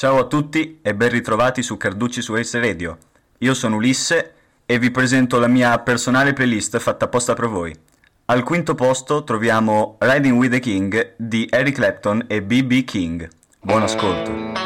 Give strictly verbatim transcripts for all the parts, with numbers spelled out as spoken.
Ciao a tutti e ben ritrovati su Carducci su Ace Radio. Io sono Ulisse e vi presento la mia personale playlist fatta apposta per voi. Al quinto posto troviamo Riding with the King di Eric Clapton e B B King. Buon ascolto.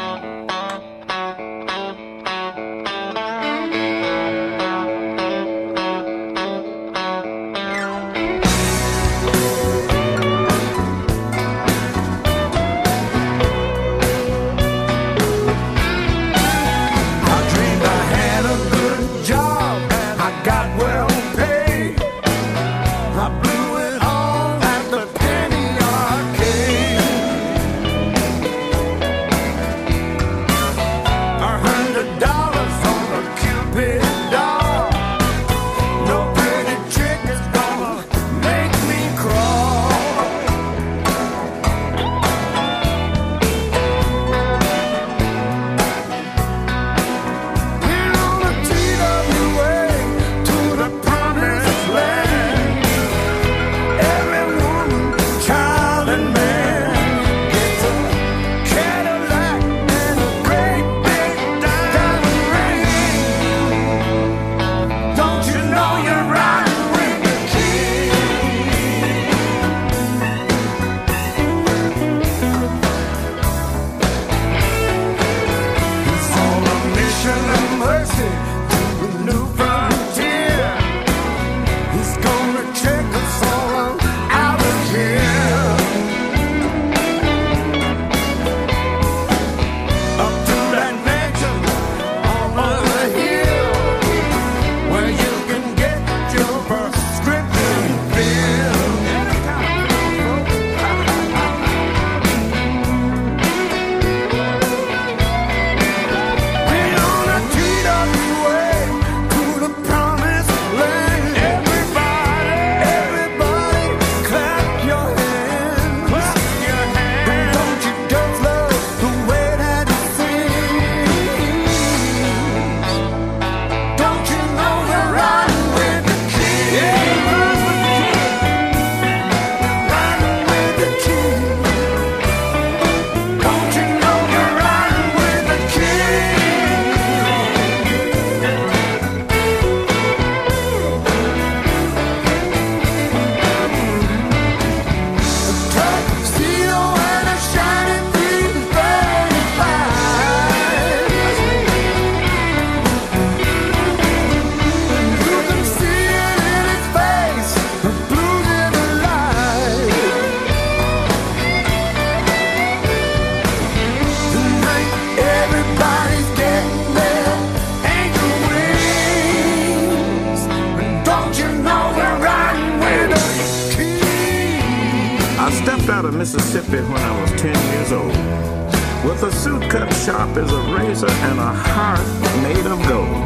Mississippi when I was ten years old, with a suit cut sharp as a razor and a heart made of gold.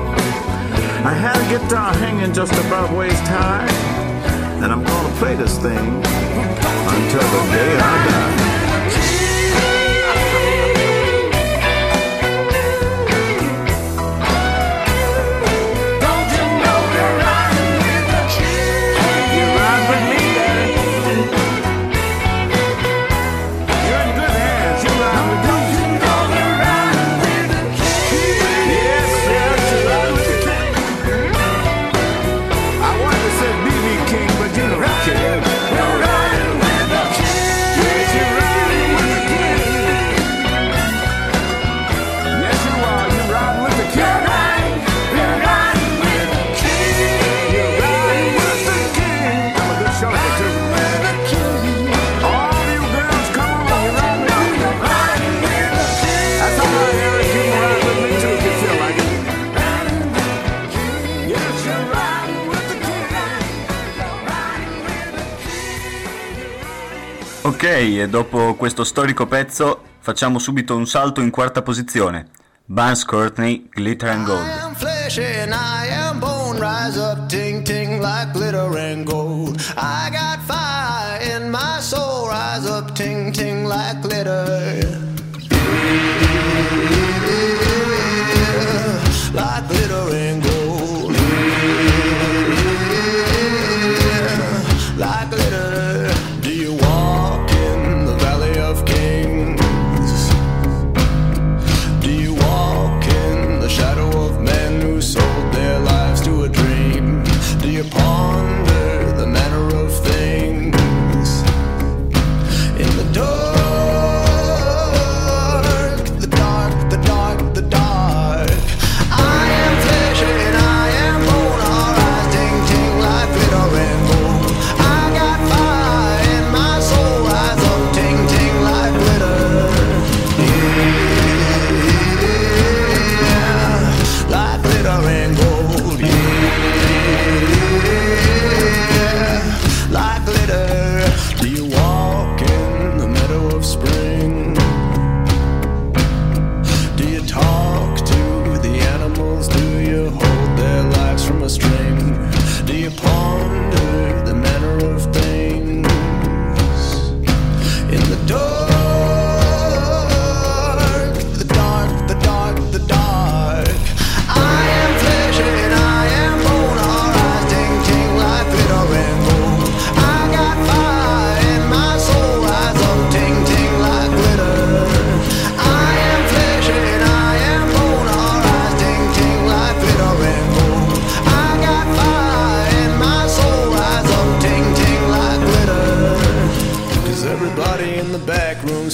I had a guitar hanging just above waist high, and I'm gonna play this thing until the day I die. Ok, e dopo questo storico pezzo facciamo subito un salto in quarta posizione. Barnes Courtney, Glitter and Gold. I am flesh and I am bone, rise up, ting ting like glitter and gold. I got fire in my soul, rise up, ting ting like glitter. Like glitter and gold. Like glitter. Do you walk in the valley of kings? Do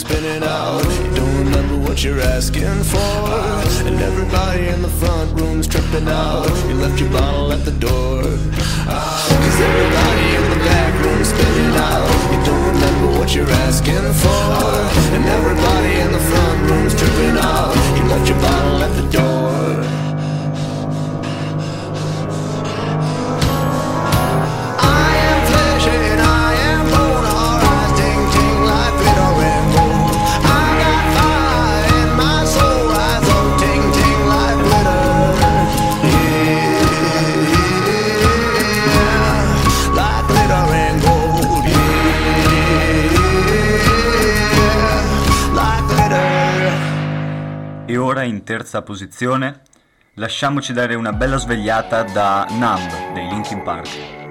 spinning out. You don't remember what you're asking for, and everybody in the front room's tripping out. You left your bottle at the door, cause everybody in the back room's spinning out. You don't remember what you're asking for, and everybody in the front room's tripping out. You left your bottle at the door. E ora in terza posizione lasciamoci dare una bella svegliata da Numb dei Linkin Park.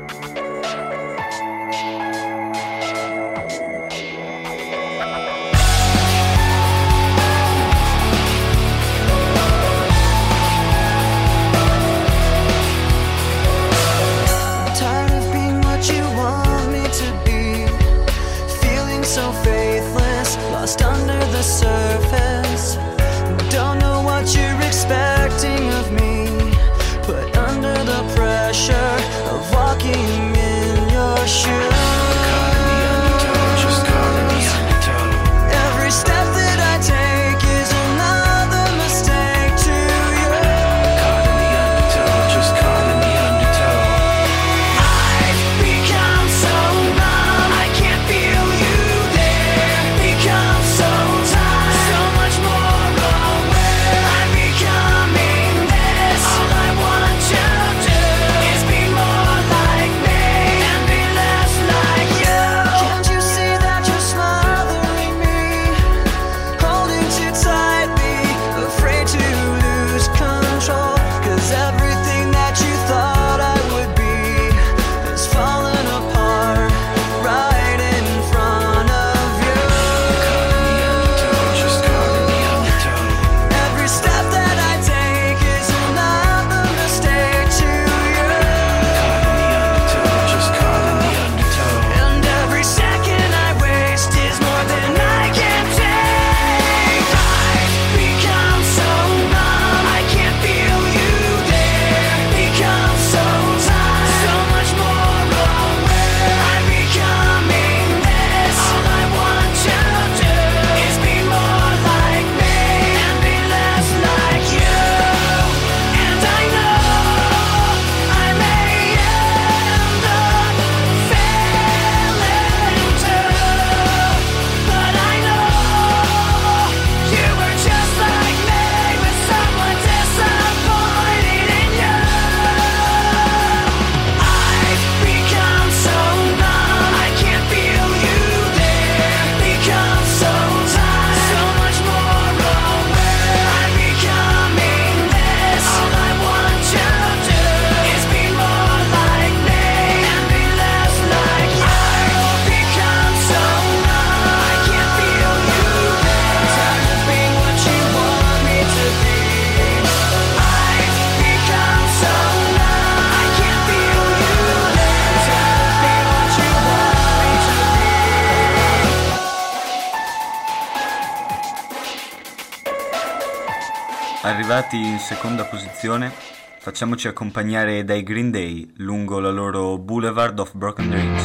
Arrivati in seconda posizione, facciamoci accompagnare dai Green Day lungo la loro Boulevard of Broken Dreams.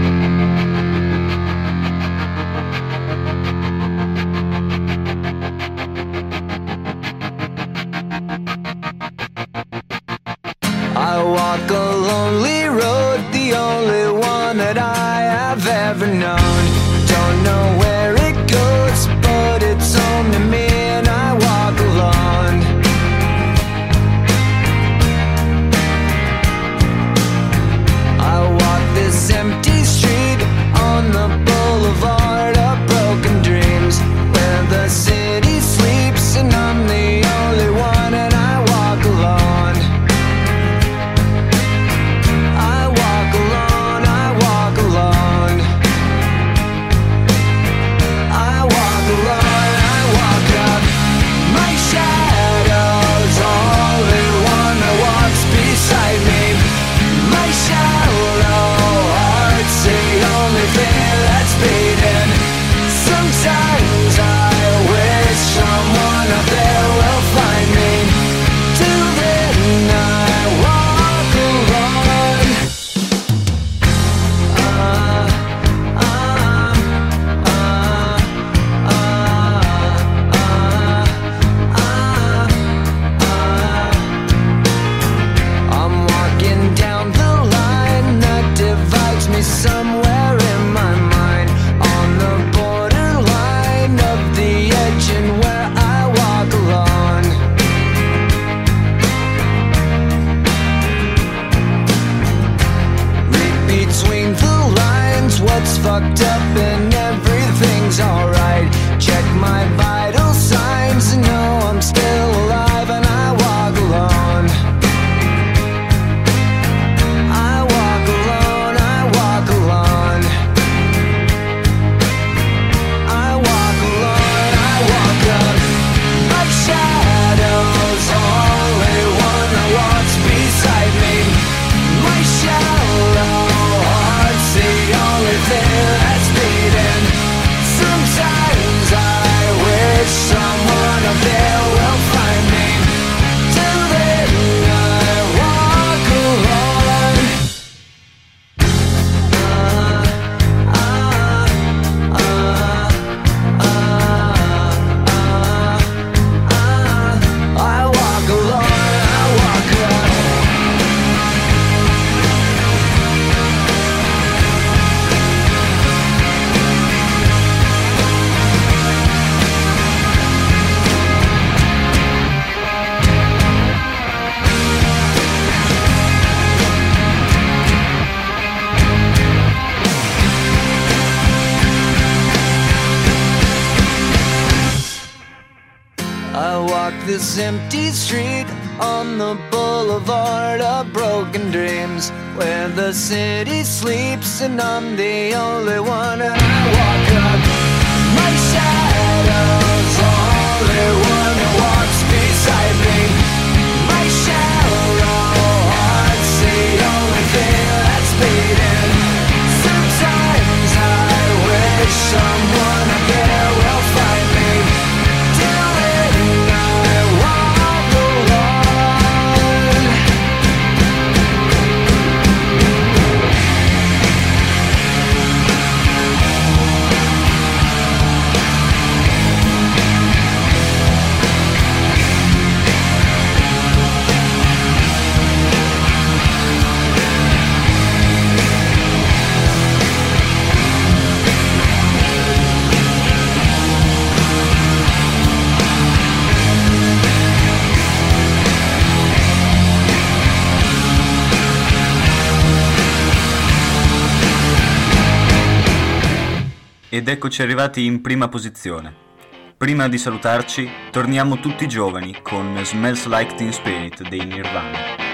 I walk a lonely road, the only one that I have ever known. Don't know where it goes, but it's home to me and I walk alone. I walk this empty I walk this empty street on the boulevard of broken dreams, where the city sleeps and I'm the only one. And I walk up, my shadow's the only one who walks beside me. My shallow heart's the only thing that's beating. Sometimes I wish someone I care will find me. Till then I walk alone. Ed eccoci arrivati in prima posizione. Prima di salutarci, torniamo tutti giovani con Smells Like Teen Spirit dei Nirvana.